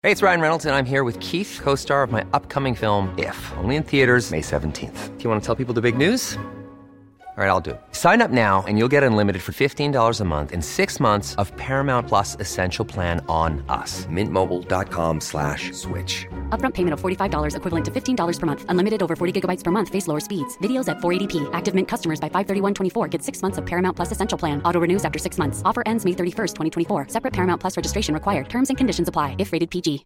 Hey, it's Ryan Reynolds, and I'm here with Keith, co-star of my upcoming film, If, only in theaters May 17th. Do you want to tell people the big news? All right, I'll do it. Sign up now and you'll get unlimited for $15 a month and 6 months of Paramount Plus Essential Plan on us. MintMobile.com/switch. Upfront payment of $45 equivalent to $15 per month. Unlimited over 40 gigabytes per month. Face lower speeds. Videos at 480p. Active Mint customers by 531.24 get 6 months of Paramount Plus Essential Plan. Auto renews after 6 months. Offer ends May 31st, 2024. Separate Paramount Plus registration required. Terms and conditions apply if rated PG.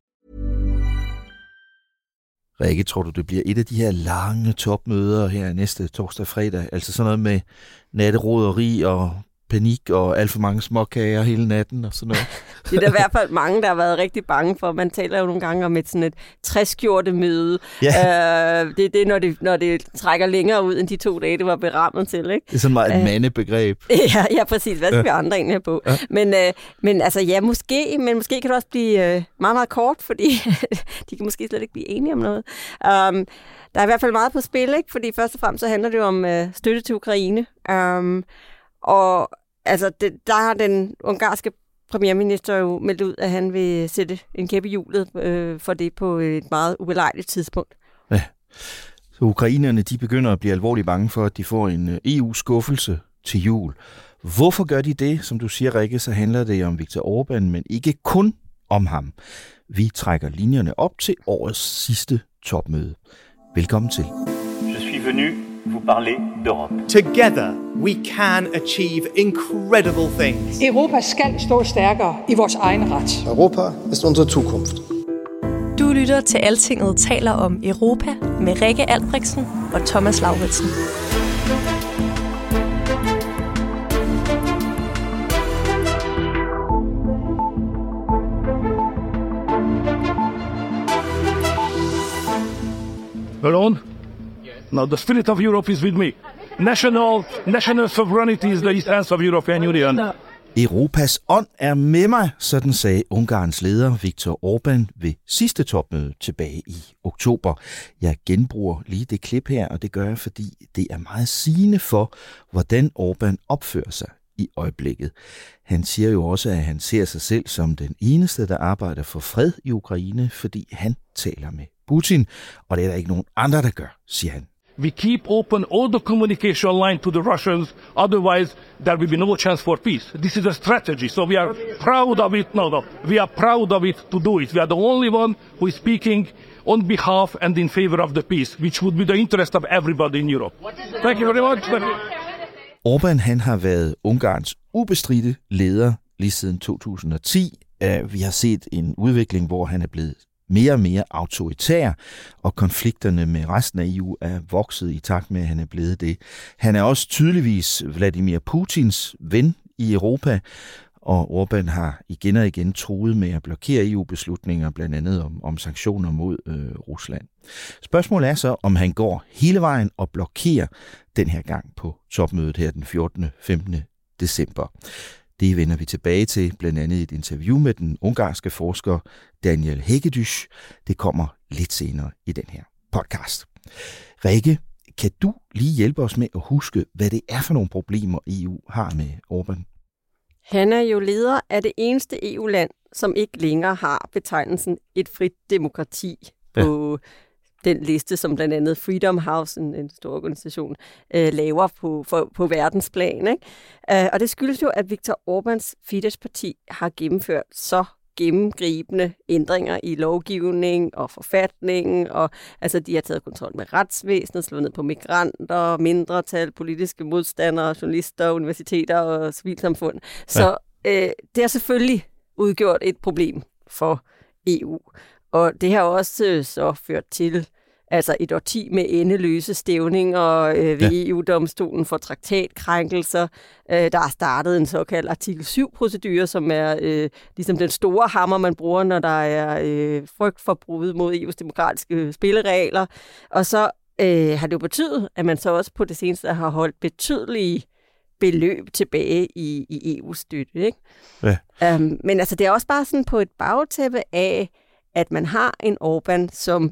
Rikke, tror du, det bliver et af de her lange topmøder her næste torsdag og fredag? Altså sådan noget med natteroderi og panik og alt for mange småkager hele natten og sådan noget? Det er der i hvert fald mange, der har været rigtig bange for. Man taler jo nogle gange om sådan et træskjortemøde. Ja. Det er når det trækker længere ud end de 2 dage, det var berammet til. Ikke? Det er sådan meget et mandebegreb. Ja, præcis. Hvad skal vi andre egentlig have på? Ja. Men altså, ja, måske kan det også blive meget, meget kort, fordi de kan måske slet ikke blive enige om noget. Der er i hvert fald meget på spil, ikke? Fordi først og fremmest så handler det jo om støtte til Ukraine. Og altså, der har den ungarske premierminister jo meldt ud, at han vil sætte en kæp i hjulet for det på et meget ubelejligt tidspunkt. Ja, så ukrainerne de begynder at blive alvorligt bange for, at de får en EU-skuffelse til jul. Hvorfor gør de det? Som du siger, Rikke, så handler det om Viktor Orbán, men ikke kun om ham. Vi trækker linjerne op til årets sidste topmøde. Velkommen til. Je suis venu vous parler d'Europe. Together we can achieve incredible things. Europa skal stå stærkere i vores egen ret. Europa ist unsere Zukunft. Du lytter til Altinget taler om Europa med Rikke Albrechtsen og Thomas Lauritsen. Alone? No, the spirit of Europe is with me. National sovereignty is the essence of European Union. No. Europas ånd er med mig, sådan sagde Ungarns leder Viktor Orbán ved sidste topmøde tilbage i oktober. Jeg genbruger lige det klip her, og det gør jeg, fordi det er meget sigende for, hvordan Orbán opfører sig i øjeblikket. Han siger jo også, at han ser sig selv som den eneste, der arbejder for fred i Ukraine, fordi han taler med Putin, og det er der ikke nogen andre, der gør, siger han. We keep open all the communication line to the Russians, otherwise there will be no chance for peace. This is a strategy, so we are proud of it. No, we are proud of it to do it. We are the only one who is speaking on behalf and in favor of the peace, which would be the interest of everybody in Europe. Thank you very much. Orbán, han har været Ungarns ubestridte leder lige siden 2010. Vi har set en udvikling, hvor han er blevet mere og mere autoritær, og konflikterne med resten af EU er vokset i takt med, at han er blevet det. Han er også tydeligvis Vladimir Putins ven i Europa, og Orbán har igen og igen truet med at blokere EU-beslutninger, blandt andet om sanktioner mod Rusland. Spørgsmålet er så, om han går hele vejen og blokerer den her gang på topmødet her den 14. 15. december. Det vender vi tilbage til, blandt andet i et interview med den ungarske forsker Daniel Hegedüs. Det kommer lidt senere i den her podcast. Rikke, kan du lige hjælpe os med at huske, hvad det er for nogle problemer, EU har med Orbán? Han er jo leder af det eneste EU-land, som ikke længere har betegnelsen et frit demokrati på den liste, som blandt andet Freedom House, en stor organisation, laver på verdensplan. Ikke? Og det skyldes jo, at Viktor Orbáns Fidesz-parti har gennemført så gennemgribende ændringer i lovgivning og forfatningen, og altså de har taget kontrol med retsvæsenet, slået ned på migranter, mindretal, politiske modstandere, journalister, universiteter og civilsamfund. Så det har selvfølgelig udgjort et problem for EU. Og det har også så ført til altså et årti med endeløse stævninger ved EU-domstolen for traktatkrænkelser. Der er startet en såkaldt artikel 7-procedure, som er ligesom den store hammer, man bruger, når der er frygt for brud mod EU's demokratiske spilleregler. Og så har det jo betydet, at man så også på det seneste har holdt betydelige beløb tilbage i EU-støtte. Ikke? Ja. Men altså, det er også bare sådan på et bagtæppe af, at man har en Orbán, som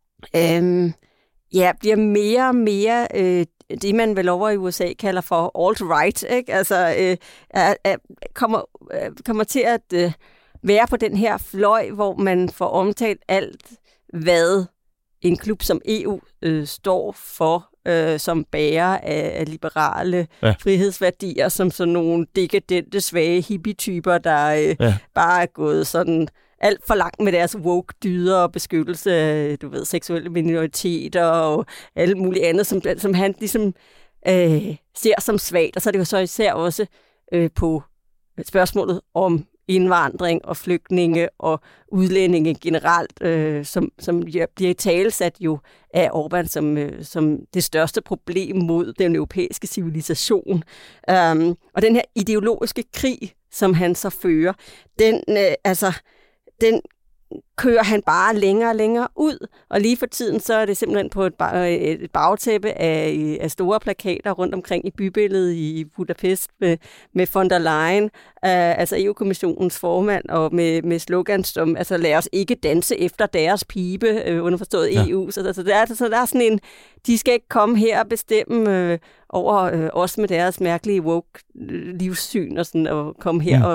bliver mere og mere det, man vel over i USA kalder for alt-right, ikke? Altså kommer til at være på den her fløj, hvor man får omtalt alt, hvad en klub som EU står for, som bærer af liberale frihedsværdier, som sådan nogle dekadente, svage hippie-typer, der bare er gået sådan alt for langt med deres woke-dyder og beskyttelse af, seksuelle minoriteter og alt muligt andet, som han ligesom ser som svagt. Og så er det jo så især også på spørgsmålet om indvandring og flygtninge og udlændinge generelt, som bliver italesat jo af Orbán som det største problem mod den europæiske civilisation. Og den her ideologiske krig, som han så fører, den kører han bare længere og længere ud, og lige for tiden så er det simpelthen på et bagtæppe af store plakater rundt omkring i bybilledet i Budapest med von der Leyen, altså EU-kommissionens formand, og med slogans som, altså lad os ikke danse efter deres pibe, underforstået EU. Så der er sådan en, de skal ikke komme her og bestemme over os med deres mærkelige woke-livssyn, og sådan, og komme her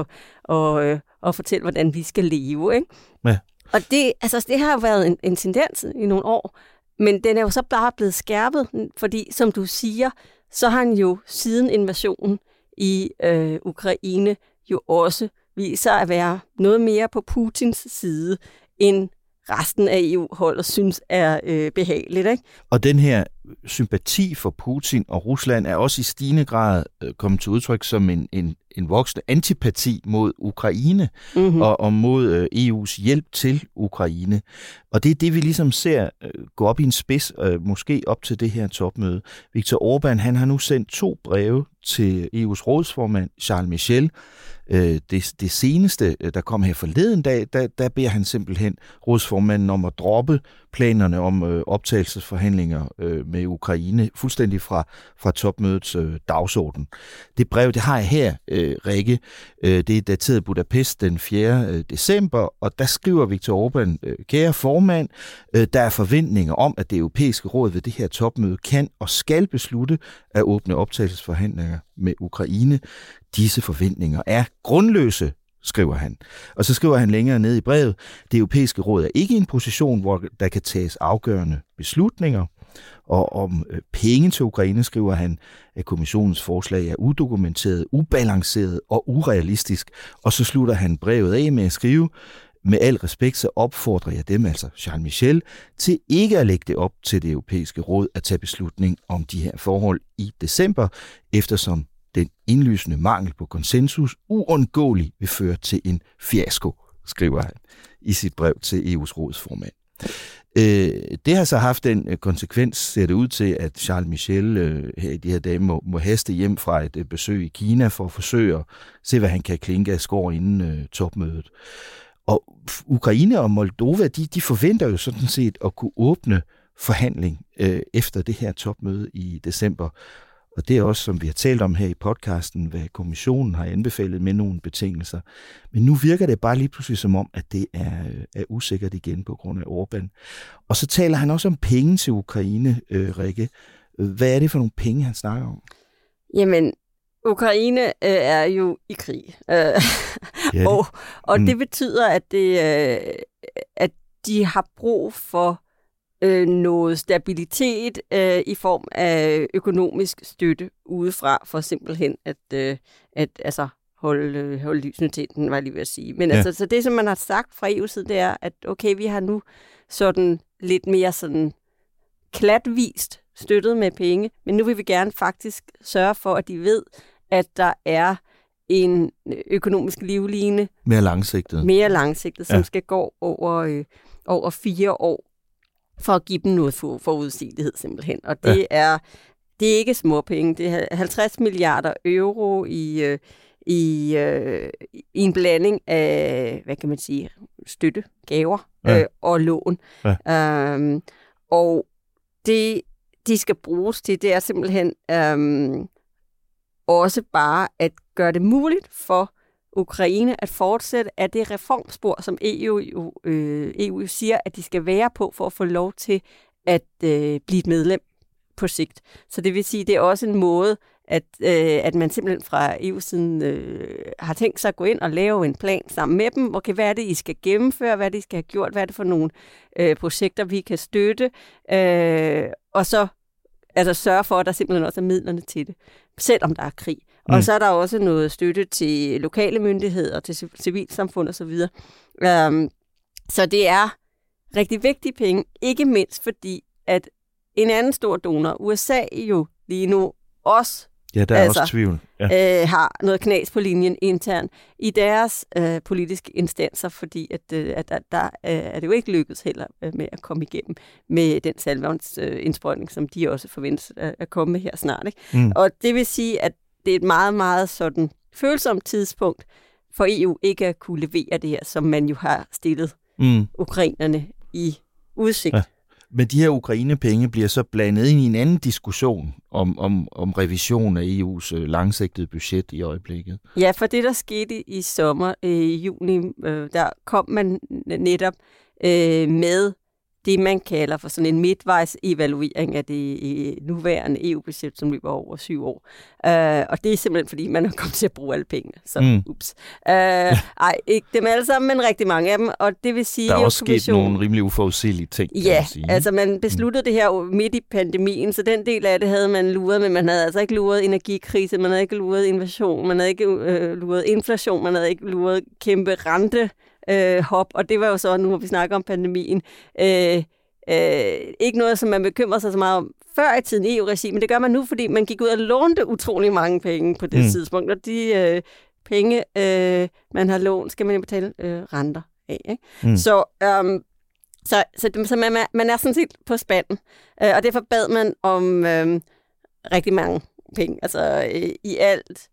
og fortælle, hvordan vi skal leve, ikke? Ja. Og det har jo været en tendens i nogle år, men den er jo så bare blevet skærpet, fordi, som du siger, så har han jo siden invasionen i Ukraine jo også vist sig at være noget mere på Putins side, end resten af EU-holdet synes er behageligt, ikke? Og den her sympati for Putin og Rusland er også i stigende grad kommet til udtryk som en voksende antipati mod Ukraine og mod EU's hjælp til Ukraine. Og det er det, vi ligesom ser gå op i en spids, måske op til det her topmøde. Viktor Orbán, han har nu sendt 2 breve til EU's rådsformand, Charles Michel. Det seneste, der kom her forleden dag, der beder han simpelthen rådsformanden om at droppe planerne om optagelsesforhandlinger med Ukraine, fuldstændig fra topmødets dagsorden. Det brev, det har jeg her, Rikke. Det er dateret Budapest den 4. december, og der skriver Viktor Orbán, kære formand, der er forventninger om, at det europæiske råd ved det her topmøde kan og skal beslutte at åbne optagelsesforhandlinger med Ukraine. Disse forventninger er grundløse, skriver han. Og så skriver han længere ned i brevet, det europæiske råd er ikke i en position, hvor der kan tages afgørende beslutninger. Og om penge til Ukraine skriver han, at kommissionens forslag er udokumenteret, ubalanceret og urealistisk. Og så slutter han brevet af med at skrive, med al respekt så opfordrer jeg dem, altså Charles Michel, til ikke at lægge det op til det europæiske råd at tage beslutning om de her forhold i december, eftersom den indlysende mangel på konsensus uundgåeligt vil føre til en fiasko, skriver han i sit brev til EU's rådsformand. Det har så haft den konsekvens, ser det ud til, at Charles Michel her i de her dage må haste hjem fra et besøg i Kina for at forsøge at se, hvad han kan klinke af skår inden topmødet. Og Ukraine og Moldova, de forventer jo sådan set at kunne åbne forhandling efter det her topmøde i december. Og det er også, som vi har talt om her i podcasten, hvad kommissionen har anbefalet med nogle betingelser. Men nu virker det bare lige pludselig som om, at det er usikkert igen på grund af Orbán. Og så taler han også om penge til Ukraine, Rikke. Hvad er det for nogle penge, han snakker om? Jamen, Ukraine er jo i krig. Og det betyder, at de har brug for noget stabilitet i form af økonomisk støtte udefra, for simpelthen at holde lysene til den, var jeg lige ved at sige. Men altså, så det, som man har sagt fra EU's side, det er, at okay, vi har nu sådan lidt mere sådan klatvist støttet med penge, men nu vil vi gerne faktisk sørge for, at de ved, at der er en økonomisk livline. Mere langsigtet, som skal gå over 4 år, for at give dem noget forudsigelighed simpelthen. Og det er ikke småpenge. Det er 50 milliarder euro i en blanding af, hvad kan man sige, støtte, gaver og lån. Ja. Og det, de skal bruges til, det er simpelthen også bare at gøre det muligt for Ukraine at fortsætte af det reformspor, som EU siger, at de skal være på for at få lov til at blive et medlem på sigt. Så det vil sige, det er også en måde at man simpelthen fra EU-siden har tænkt sig at gå ind og lave en plan sammen med dem. Okay, hvad er det, I skal gennemføre? Hvad er det, I skal have gjort? Hvad er det for nogle projekter, vi kan støtte? Og så sørge for, at der simpelthen også er midlerne til det, selvom der er krig. Og så er der også noget støtte til lokale myndigheder, til civilsamfund osv. Så det er rigtig vigtige penge, ikke mindst fordi, at en anden stor donor, USA jo lige nu også, der er også tvivl. Har noget knas på linjen internt i deres politiske instanser, fordi at der er det jo ikke lykkedes heller med at komme igennem med den salgvandsindsprøjtning, som de også forventes at komme med her snart. Ikke? Og det vil sige, at det er et meget, meget sådan følsomt tidspunkt for EU ikke at kunne levere det her, som man jo har stillet ukrainerne i udsigt. Ja. Men de her Ukraine-penge bliver så blandet ind i en anden diskussion om revision af EU's langsigtede budget i øjeblikket. Ja, for det, der skete i sommer, i juni, der kom man netop med det, man kalder for sådan en midtvejs evaluering af det nuværende EU-budget, som løber over 7 år. Og det er simpelthen, fordi man er kommet til at bruge alle pengene. Så ups. Ikke dem alle sammen, men rigtig mange af dem. Og det vil sige, der er også sket nogle rimelig uforudsigelige ting. Ja, altså man besluttede det her midt i pandemien, så den del af det havde man luret, men man havde altså ikke luret energikrise, man havde ikke luret invasion, man havde ikke luret inflation, man havde ikke luret kæmpe rente, hop, og det var jo så, nu hvor vi snakker om pandemien, ikke noget, som man bekymrer sig så meget om før i tiden i EU-regi, men det gør man nu, fordi man gik ud og lånte utrolig mange penge på det tidspunkt, og de penge, man har lånt, skal man jo betale renter af. Ikke? Så man er sådan set på spanden, og derfor bad man om rigtig mange penge, altså i alt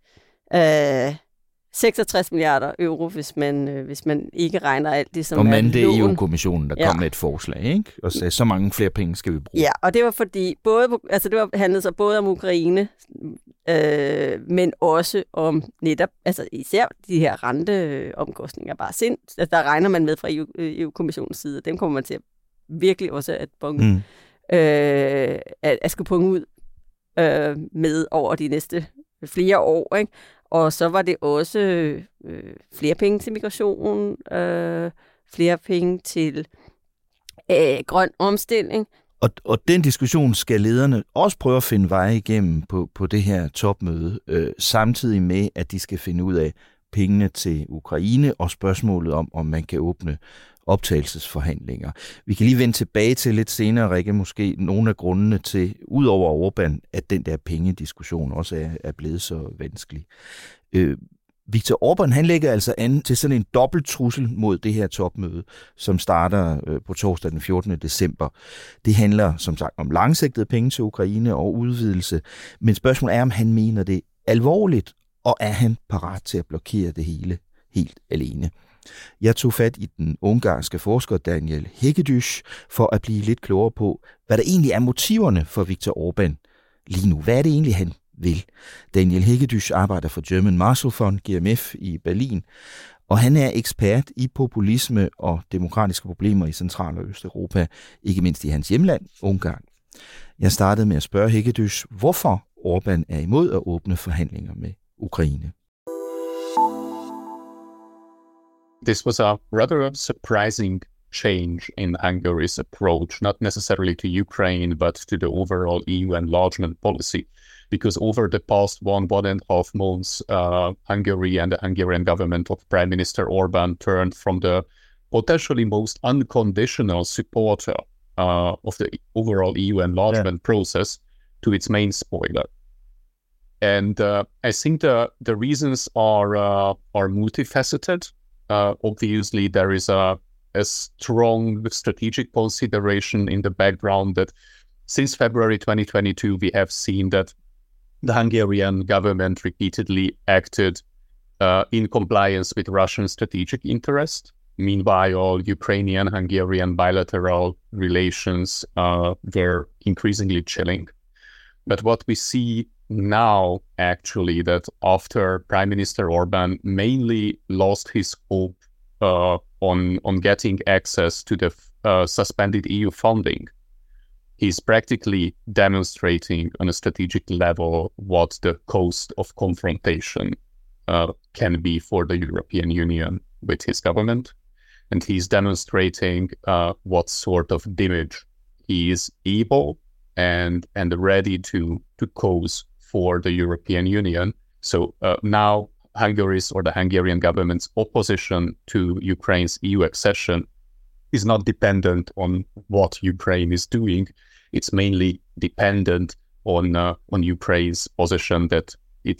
66 milliarder euro, hvis man ikke regner alt det, som og er lån. Og det er EU-kommissionen, der kom med et forslag, ikke? Og sagde, så mange flere penge skal vi bruge. Ja, og det var fordi, handlede så både om Ukraine, men også om netop, altså især de her renteomkostninger bare sind. Altså, der regner man med fra EU-kommissionens side, og dem kommer man til at virkelig også at bunge, at skulle punge ud med over de næste flere år, ikke? Og så var det også flere penge til migration, flere penge til grøn omstilling. Og den diskussion skal lederne også prøve at finde veje igennem på det her topmøde, samtidig med, at de skal finde ud af pengene til Ukraine og spørgsmålet om man kan åbne optagelsesforhandlinger. Vi kan lige vende tilbage til lidt senere, Rikke, måske nogle af grundene til, udover Orbán, at den der pengediskussion også er blevet så vanskelig. Viktor Orbán, han lægger altså an til sådan en dobbelt trussel mod det her topmøde, som starter på torsdag den 14. december. Det handler som sagt om langsigtede penge til Ukraine og udvidelse, men spørgsmålet er, om han mener det alvorligt, og er han parat til at blokere det hele helt alene. Jeg tog fat i den ungarske forsker Daniel Hegedűs for at blive lidt klogere på, hvad der egentlig er motiverne for Viktor Orbán lige nu. Hvad er det egentlig, han vil? Daniel Hegedűs arbejder for German Marshall Fund, GMF, i Berlin, og han er ekspert i populisme og demokratiske problemer i Central- og Østeuropa, ikke mindst i hans hjemland, Ungarn. Jeg startede med at spørge Hegedűs, hvorfor Orbán er imod at åbne forhandlinger med Ukraine. This was a rather surprising change in Hungary's approach, not necessarily to Ukraine, but to the overall EU enlargement policy. Because over the past 1.5 months, Hungary and the Hungarian government of Prime Minister Orbán turned from the potentially most unconditional supporter of the overall EU enlargement process to its main spoiler. And I think the reasons are multifaceted. Obviously, there is a strong strategic consideration in the background that since February 2022, we have seen that the Hungarian government repeatedly acted in compliance with Russian strategic interest. Meanwhile, Ukrainian-Hungarian bilateral relations were increasingly chilling. But what we see now, actually, that after Prime Minister Orbán mainly lost his hope on getting access to the suspended EU funding, he's practically demonstrating on a strategic level what the cost of confrontation can be for the European Union with his government. And he's demonstrating what sort of damage he is able and ready to cause for the European Union. So now the Hungarian government's opposition to Ukraine's EU accession is not dependent on what Ukraine is doing. It's mainly dependent on Ukraine's position that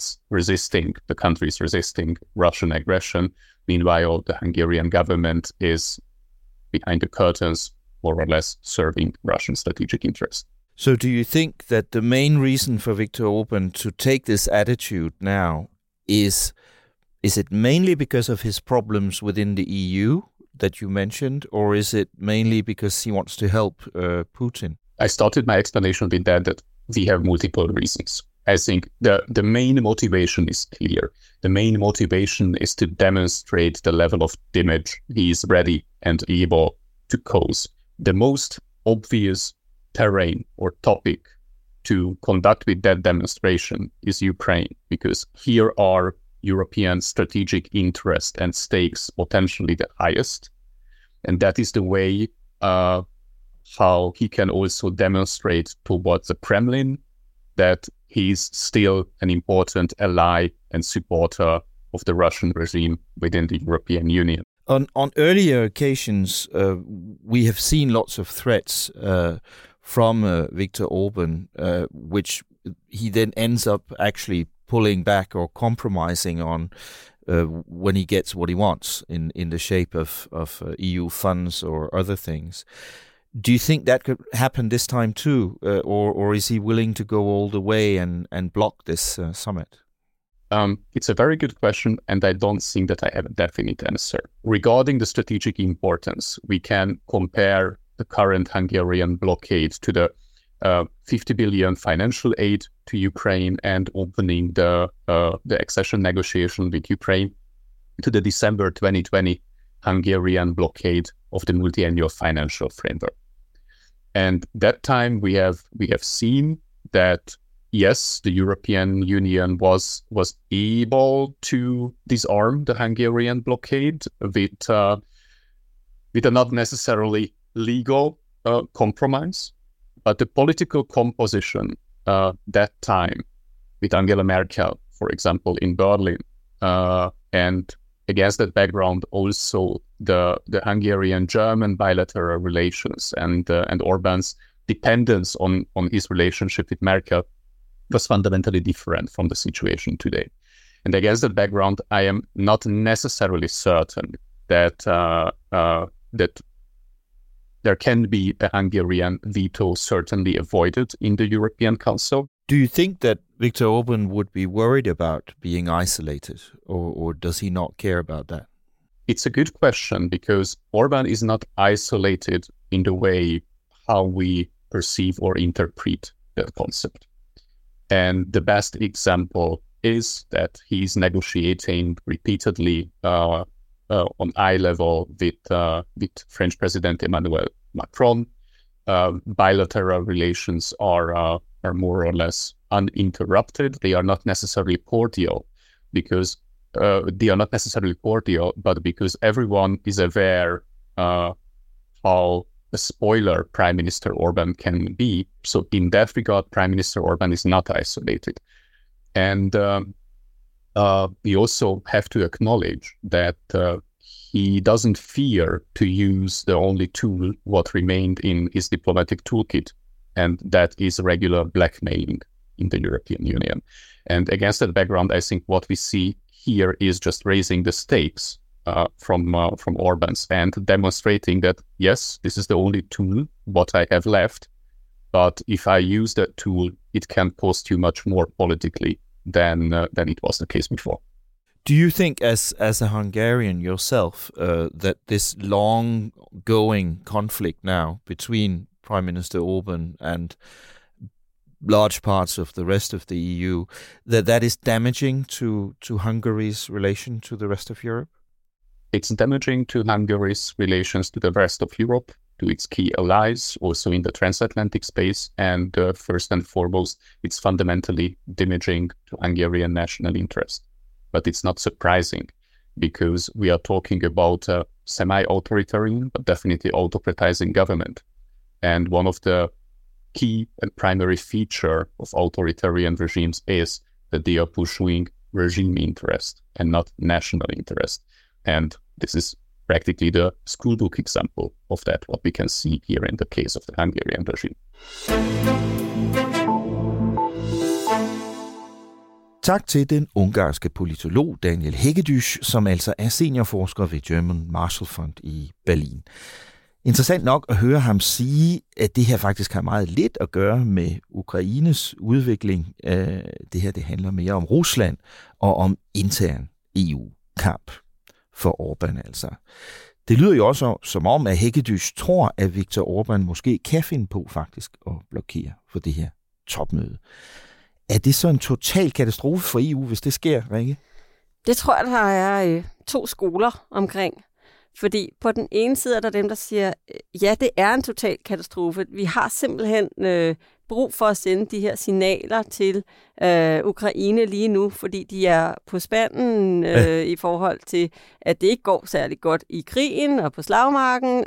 the country is resisting Russian aggression. Meanwhile, the Hungarian government is behind the curtains, more or less serving Russian strategic interests. So do you think that the main reason for Viktor Orban to take this attitude now is it mainly because of his problems within the EU that you mentioned, or is it mainly because he wants to help Putin? I started my explanation with that we have multiple reasons. I think the main motivation is clear. The main motivation is to demonstrate the level of damage he is ready and able to cause. The most obvious terrain or topic to conduct with that demonstration is Ukraine, because here are European strategic interest and stakes potentially the highest. And that is the way how he can also demonstrate towards the Kremlin that he's still an important ally and supporter of the Russian regime within the European Union. On earlier occasions, we have seen lots of threats from Viktor Orban, which he then ends up actually pulling back or compromising on when he gets what he wants in the shape of EU funds or other things. Do you think that could happen this time too, or is he willing to go all the way and block this summit? It's a very good question, and I don't think that I have a definite answer. Regarding the strategic importance, we can compare the current Hungarian blockade to the 50 billion financial aid to Ukraine and opening the accession negotiation with Ukraine to the December 2020 Hungarian blockade of the multi-annual financial framework. And that time we have seen that, yes, the European Union was able to disarm the Hungarian blockade with a not necessarily legal compromise, but the political composition that time with Angela Merkel, for example, in Berlin, and against that background, also the Hungarian-German bilateral relations and Orban's dependence on his relationship with Merkel was fundamentally different from the situation today. And against that background, I am not necessarily certain that that there can be a Hungarian veto certainly avoided in the European Council. Do you think that Viktor Orban would be worried about being isolated, or does he not care about that? It's a good question, because Orban is not isolated in the way how we perceive or interpret that concept. And the best example is that he's negotiating repeatedly on eye level with French President Emmanuel Macron. Bilateral relations are more or less uninterrupted. They are not necessarily cordial, but because everyone is aware how a spoiler Prime Minister Orban can be. So in that regard, Prime Minister Orban is not isolated. And we also have to acknowledge that he doesn't fear to use the only tool what remained in his diplomatic toolkit, and that is regular blackmailing in the European Union. And against that background, I think what we see here is just raising the stakes from Orban's and demonstrating that, yes, this is the only tool what I have left, but if I use that tool, it can cost you much more politically than it was the case before. Do you think, as a Hungarian yourself, that this long-going conflict now between Prime Minister Orban and large parts of the rest of the EU, that is damaging to Hungary's relation to the rest of Europe? It's damaging to Hungary's relations to the rest of Europe, to its key allies, also in the transatlantic space. And first and foremost, it's fundamentally damaging to Hungarian national interest. But it's not surprising, because we are talking about a semi-authoritarian, but definitely autocratizing government. And one of the key and primary feature of authoritarian regimes is that they are pursuing regime interest and not national interest. And this is practically the schoolbook example of that, what we can see here in the case of the Hungarian regime. Tak til den ungarske politolog Daniel Hegedüs, som altså er seniorforsker ved German Marshall Fund i Berlin. Interessant nok at høre ham sige, at det her faktisk har meget lidt at gøre med Ukraines udvikling. Det her det handler mere om Rusland og om intern EU-kamp for Orbán altså. Det lyder jo også som om, at Hegedüs tror, at Viktor Orbán måske kan finde på faktisk at blokere for det her topmøde. Er det så en total katastrofe for EU, hvis det sker, Rikke? Det tror jeg, der er 2 skoler omkring. Fordi på den ene side er der dem, der siger, ja, det er en total katastrofe. Vi har simpelthen brug for at sende de her signaler til Ukraine lige nu, fordi de er på spanden i forhold til, at det ikke går særlig godt i krigen og på slagmarken.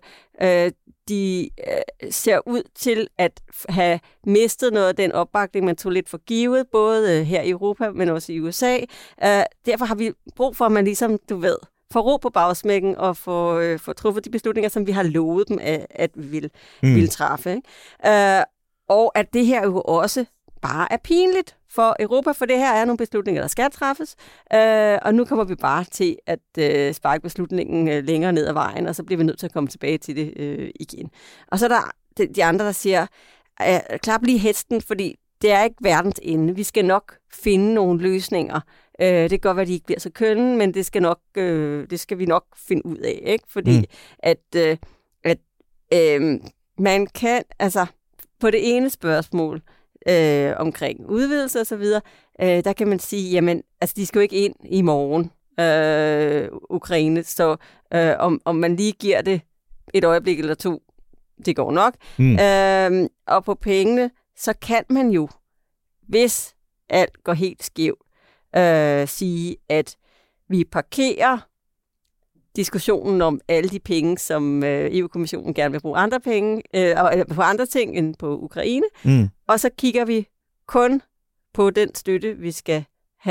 De ser ud til at have mistet noget af den opbakning, man tog lidt for givet, både her i Europa, men også i USA. Derfor har vi brug for, at man ligesom, du ved, får ro på bagsmækken og får truffet de beslutninger, som vi har lovet dem, at vi vil træffe. Ikke? Og at det her jo også bare er pinligt for Europa, for det her er nogle beslutninger, der skal træffes, og nu kommer vi bare til at sparke beslutningen længere ned ad vejen, og så bliver vi nødt til at komme tilbage til det igen. Og så er der de andre, der siger, klap lige hesten, fordi det er ikke verdens ende. Vi skal nok finde nogle løsninger. Det kan godt være, at de ikke bliver så kønne, men det skal vi nok finde ud af, ikke? Fordi at man kan, altså på det ene spørgsmål omkring udvidelse og så videre, der kan man sige, jamen, altså de skal jo ikke ind i morgen, Ukraine, så om man lige giver det et øjeblik eller 2, det går nok. Og på pengene, så kan man jo, hvis alt går helt skævt, sige, at vi parkerer diskussionen om alle de penge, som EU-kommissionen gerne vil bruge andre penge, på andre ting end på Ukraine, og så kigger vi kun på den støtte, vi skal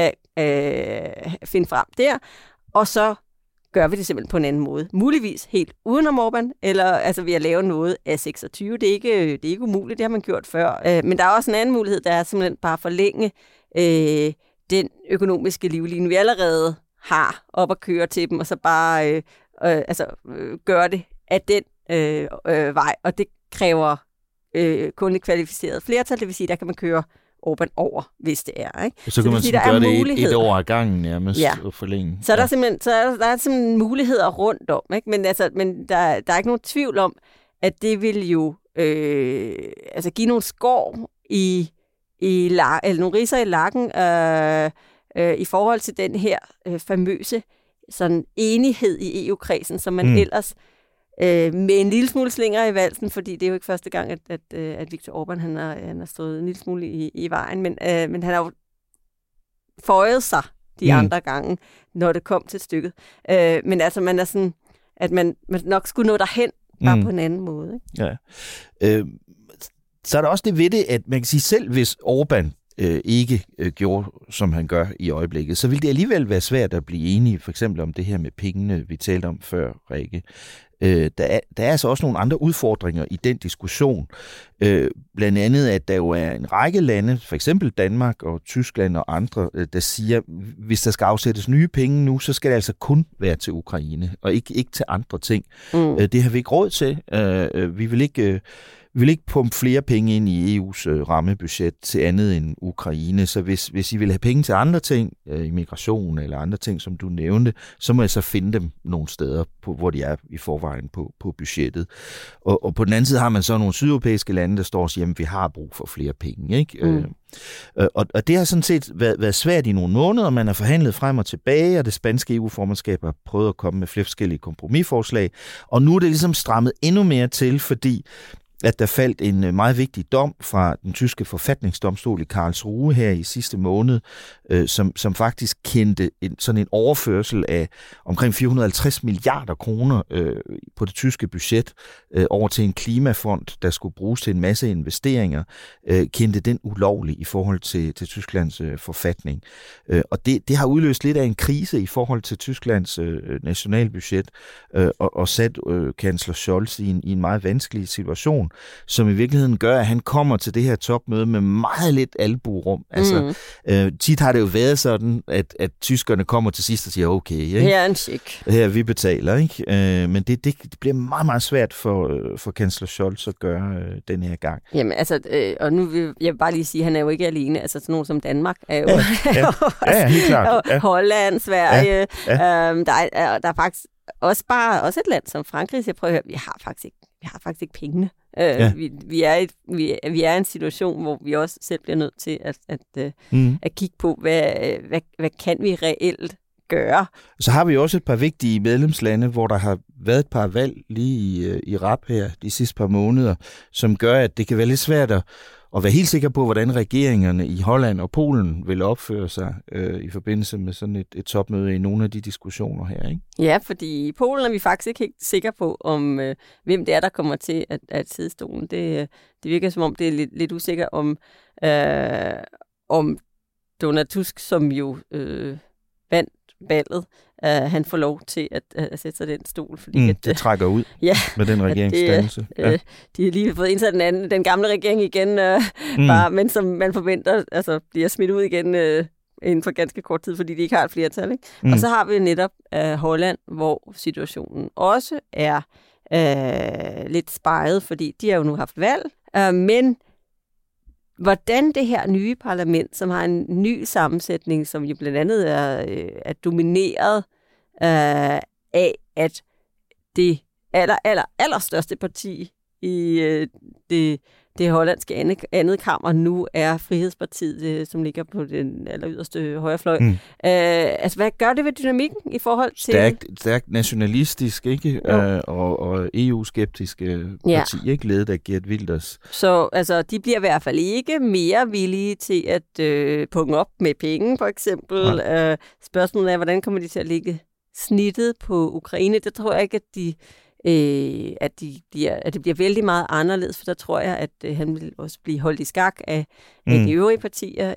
finde frem der, og så gør vi det simpelthen på en anden måde. Muligvis helt udenom Orbán, eller altså ved at lave noget af 26. Det er ikke umuligt, det har man gjort før. Men der er også en anden mulighed, der er simpelthen bare at forlænge den økonomiske livline, vi allerede har op at køre til dem, og så bare gøre det af den vej. Og det kræver kun et kvalificeret flertal, det vil sige, der kan man køre Orbán over, hvis det er. Ikke? Så kan man gøre det et år ad gangen nærmest og forlænge. Så er der simpelthen muligheder rundt om. Ikke? Men der er ikke nogen tvivl om, at det vil jo give nogle skår eller nogle ridser i lakken i forhold til den her famøse sådan enighed i EU-kredsen, som man ellers med en lille smule slinger i valsen, fordi det er jo ikke første gang, at Viktor Orbán han har stået en lille smule i vejen, men han har jo føjet sig de andre gange, når det kom til stykket. Men altså, man er sådan, at man nok skulle nå derhen, bare på en anden måde. Ikke? Ja. Så er der også det ved det, at man kan sige, selv hvis Orbán ikke gjorde, som han gør i øjeblikket, så vil det alligevel være svært at blive enige, for eksempel om det her med pengene, vi talte om før, Rikke. Der er altså også nogle andre udfordringer i den diskussion. Blandt andet, at der jo er en række lande, for eksempel Danmark og Tyskland og andre, der siger, hvis der skal afsættes nye penge nu, så skal det altså kun være til Ukraine, og ikke til andre ting. Det har vi ikke råd til. Vi vil ikke vi vil ikke pumpe flere penge ind i EU's rammebudget til andet end Ukraine, så hvis I vil have penge til andre ting, immigration eller andre ting, som du nævnte, så må jeg så finde dem nogle steder, hvor de er i forvejen på budgettet. Og på den anden side har man så nogle sydeuropæiske lande, der står og siger, at vi har brug for flere penge, ikke? Og det har sådan set været svært i nogle måneder, man har forhandlet frem og tilbage, og det spanske EU-formandskab har prøvet at komme med flere forskellige kompromisforslag, og nu er det ligesom strammet endnu mere til, fordi at der faldt en meget vigtig dom fra den tyske forfatningsdomstol i Karlsruhe her i sidste måned, som faktisk kendte sådan en overførsel af omkring 450 milliarder kroner på det tyske budget over til en klimafond, der skulle bruges til en masse investeringer, kendte den ulovlig i forhold til Tysklands forfatning. Og det har udløst lidt af en krise i forhold til Tysklands nationalbudget og sat kansler Scholz i en meget vanskelig situation, som i virkeligheden gør, at han kommer til det her topmøde med meget lidt albuerum. Altså, tit har det jo været sådan, at tyskerne kommer til sidst og siger, okay, ikke? Her er en check. Her vi betaler, ikke? Men det bliver meget, meget svært for kansler Scholz at gøre den her gang. Jamen, altså, og nu vil jeg bare lige sige, at han er jo ikke alene. Altså, sådan nogen som Danmark er jo... Ja, helt klart. Ja. Holland, Sverige. Der er faktisk også et land som Frankrig, så jeg prøver at høre, vi har faktisk ikke pengene. Vi er i en situation, hvor vi også selv bliver nødt til at kigge på, hvad kan vi reelt gøre. Så har vi også et par vigtige medlemslande, hvor der har været et par valg lige i rap her de sidste par måneder, som gør, at det kan være lidt svært at være helt sikker på, hvordan regeringerne i Holland og Polen vil opføre sig i forbindelse med sådan et topmøde i nogle af de diskussioner her, ikke? Ja, fordi i Polen er vi faktisk ikke helt sikre på, om hvem det er, der kommer til at sidde i stolen. Det virker som om, det er lidt usikker om Donald Tusk, som jo vandt valget, han får lov til at sætte sig den stol. Fordi det trækker ud med den regeringsdannelse. De har lige fået indsat den gamle regering igen, men som man forventer altså, bliver smidt ud igen inden for ganske kort tid, fordi de ikke har et flertal. Ikke? Og så har vi netop Holland, hvor situationen også er lidt speget, fordi de har jo nu haft valg, men hvordan det her nye parlament, som har en ny sammensætning, som jo blandt andet er domineret af, at det allerstørste parti i det hollandske andet kammer nu er Frihedspartiet, som ligger på den alleryderste højrefløj. Altså, hvad gør det ved dynamikken i forhold til... Stærkt nationalistisk, ikke? Og EU-skeptiske parti, ikke? Ledet af Geert Wilders. Så altså, de bliver i hvert fald ikke mere villige til at punge op med penge, for eksempel. Spørgsmålet er, hvordan kommer de til at lægge snittet på Ukraine? Det tror jeg ikke, at det bliver vældig meget anderledes, for der tror jeg, at han vil også blive holdt i skak af de øvrige partier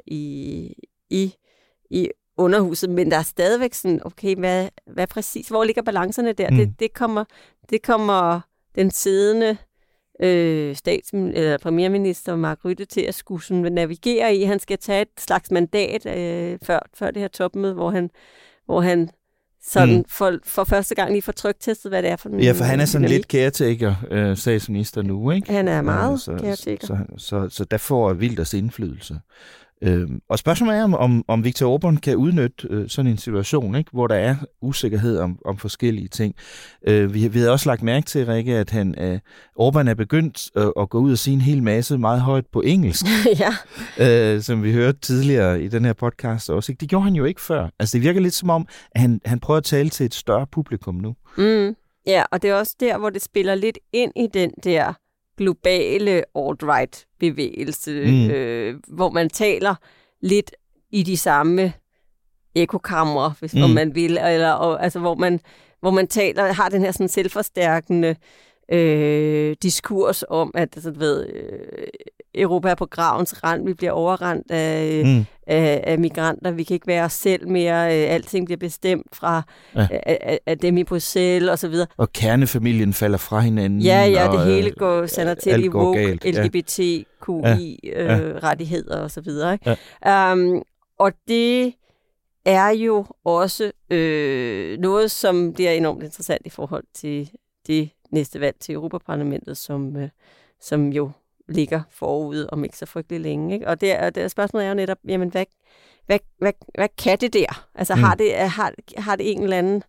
i underhuset, men der er stadigvæk sådan, okay, hvad præcis, hvor ligger balancerne der? Det kommer den siddende premierminister Mark Rutte til at skulle sådan navigere i. Han skal tage et slags mandat før det her topmøde, hvor han sådan for første gang lige får tryktestet, hvad det er for en... Ja, for han er sådan lidt caretaker, statsminister nu, ikke? Han er meget caretaker. Så der får Wilders indflydelse. Og spørgsmålet er, om Viktor Orbán kan udnytte sådan en situation, ikke, hvor der er usikkerhed om forskellige ting. Vi har også lagt mærke til, Rikke, at Orbán er begyndt at gå ud og sige en hel masse meget højt på engelsk, som vi hørte tidligere i den her podcast også. Ikke? Det gjorde han jo ikke før. Altså, det virker lidt som om, at han prøver at tale til et større publikum nu. Ja, og det er også der, hvor det spiller lidt ind i den der globale alt-right-bevægelse, hvor man taler lidt i de samme ekokamre, hvis man vil, altså hvor man taler, har den her sådan selvforstærkende diskurs om, at Europa er på gravens rand, vi bliver overrendt af migranter, vi kan ikke være os selv mere, alting bliver bestemt fra af dem i Bruxelles og så videre. Og kernefamilien falder fra hinanden. Ja, det hele sander til i woke, LGBTQI-rettigheder og så videre. Ikke? Og det er jo også noget, som bliver enormt interessant i forhold til det næste valg til Europaparlamentet, som jo ligger forude om ikke så frygtelig længe. Ikke? Og det spørgsmålet er jo netop, jamen, hvad kan det der? Altså har det en eller anden...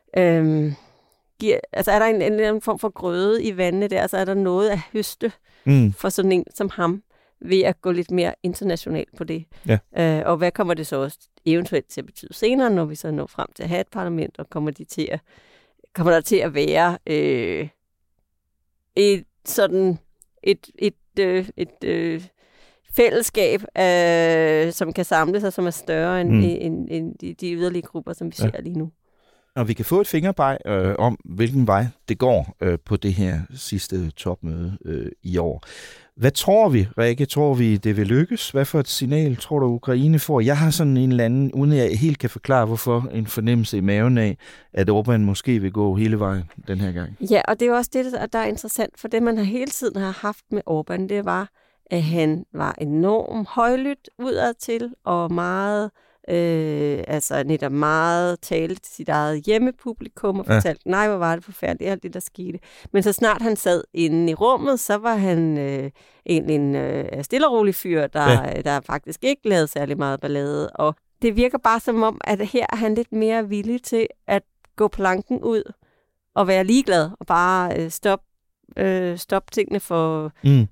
altså er der en eller anden form for grøde i vandene der? Altså er der noget at høste for sådan en som ham ved at gå lidt mere internationalt på det? Ja. Og hvad kommer det så også eventuelt til at betyde senere, når vi så når frem til at have et parlament, og kommer der til at være et fællesskab, som kan samle sig, som er større end de yderlige grupper, som vi ser lige nu. Og vi kan få et fingerbeg om, hvilken vej det går på det her sidste topmøde i år. Hvad tror vi, Rikke? Tror vi, det vil lykkes? Hvad for et signal tror du, Ukraine får? Jeg har sådan en eller anden, uden jeg helt kan forklare, hvorfor, en fornemmelse i maven af, at Orbán måske vil gå hele vejen den her gang. Ja, og det er jo også det, der er interessant, for det, man hele tiden har haft med Orbán, det var, at han var enormt højlydt udadtil, og meget... netop meget talte til sit eget hjemmepublikum og fortalte, nej, hvor var det forfærdeligt, alt det, der skete. Men så snart han sad inde i rummet, så var han egentlig en stille og rolig fyr, der faktisk ikke lavede særlig meget ballade. Og det virker bare som om, at her er han lidt mere villig til at gå planken ud og være ligeglad og bare stoppe tingene for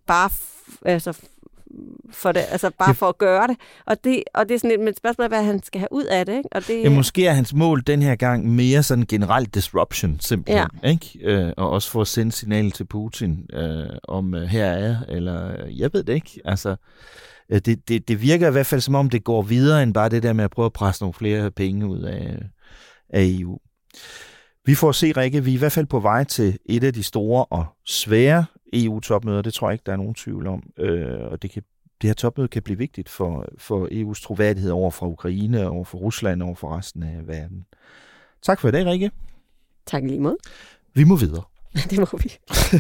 for det, altså bare for at gøre det. Og det er sådan et spørgsmål, hvad han skal have ud af det, ikke? Og det måske er hans mål den her gang mere sådan generel disruption, simpelthen, ikke? Og også for at sende signal til Putin om her er, eller jeg ved det ikke. Altså, det virker i hvert fald som om, det går videre end bare det der med at prøve at presse nogle flere penge ud af EU. Vi får se, Rikke, vi er i hvert fald på vej til et af de store og svære EU-topmøder, det tror jeg ikke, der er nogen tvivl om. Og det her topmøde kan blive vigtigt for EU's troværdighed over for Ukraine, over for Rusland, over for resten af verden. Tak for i dag, Rikke. Tak lige måde. Vi må videre. Det må vi.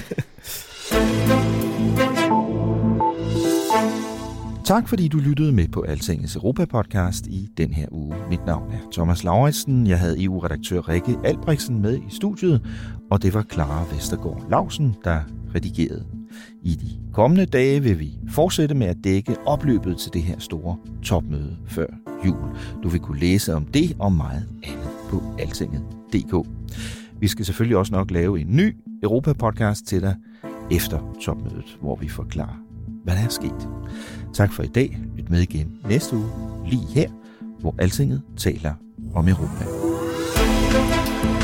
Tak fordi du lyttede med på Altingets Europa-podcast i den her uge. Mit navn er Thomas Lauritsen. Jeg havde EU-redaktør Rikke Albrechtsen med i studiet, og det var Clara Vestergaard Lausen, der redigerede. I de kommende dage vil vi fortsætte med at dække opløbet til det her store topmøde før jul. Du vil kunne læse om det og meget andet på altinget.dk. Vi skal selvfølgelig også nok lave en ny Europa-podcast til dig efter topmødet, hvor vi forklarer, hvad der er sket. Tak for i dag. Lyt med igen næste uge, lige her, hvor Altinget taler om Europa.